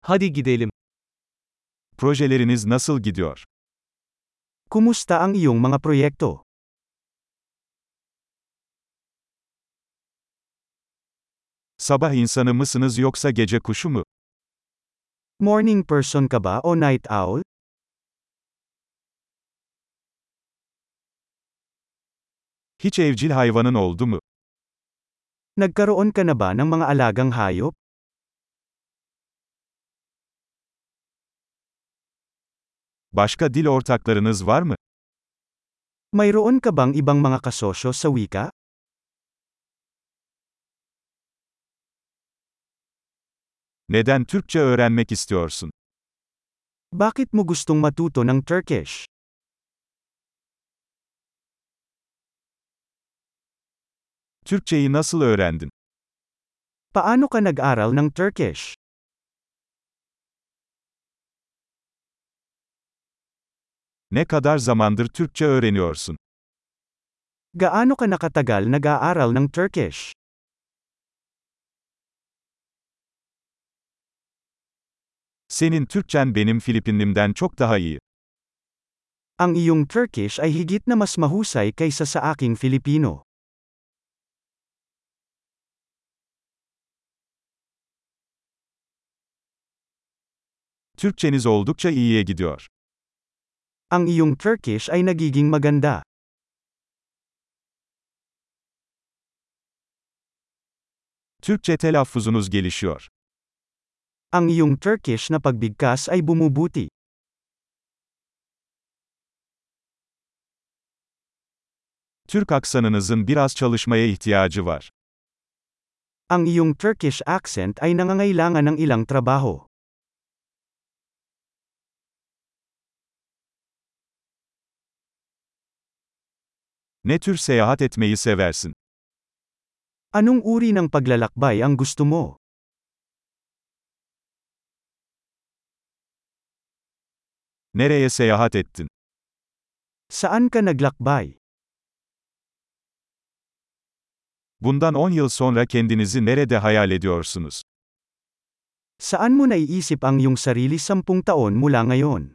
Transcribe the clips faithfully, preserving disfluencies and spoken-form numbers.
Hadi gidelim. Projeleriniz nasıl gidiyor? Kumusta ang iyong mga proyekto? Sabah insanı mısınız yoksa gece kuşu mu? Morning person ka ba o night owl? Hiç evcil hayvanın oldu mu? Nagkaroon ka na ba ng mga alagang hayop? Başka dil ortaklarınız var mı? Mayroon ka bang ibang mga kasosyo sa wika? Neden Türkçe öğrenmek istiyorsun? Bakit mo gustong matuto ng Turkish? Türkçeyi nasıl öğrendin? Paano ka nag-aral ng Turkish? Ne kadar zamandır Türkçe öğreniyorsun? Gaano ka nakatagal nag-aaral ng Turkish? Senin Türkçen benim Filipinlimden çok daha iyi. Ang iyong Turkish ay higit na mas mahusay kaysa sa aking Filipino. Türkçeniz oldukça iyiye gidiyor. Ang iyong Turkish ay nagiging maganda. Türkçe telaffuzunuz gelişiyor. Ang iyong Turkish na pagbigkas ay bumubuti. Türk aksanınızın biraz çalışmaya ihtiyacı var. Ang iyong Turkish accent ay nangangailangan ng ilang trabaho. Ne tür seyahat etmeyi seversin? Anong uri ng paglalakbay ang gusto mo? Nereye seyahat ettin? Saan ka naglakbay? Bundan on yıl sonra kendinizi nerede hayal ediyorsunuz? Saan mo naiisip ang iyong sarili sampung taon mula ngayon?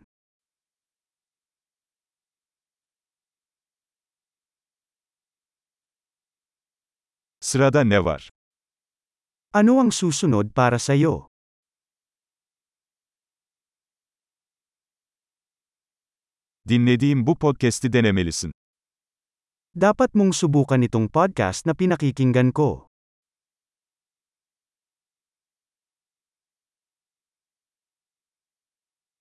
Sırada ne var? Ano ang susunod para sa iyo? Dinlediğim bu podcast'i denemelisin. Dapat mong subukan itong podcast na pinakikinggan ko.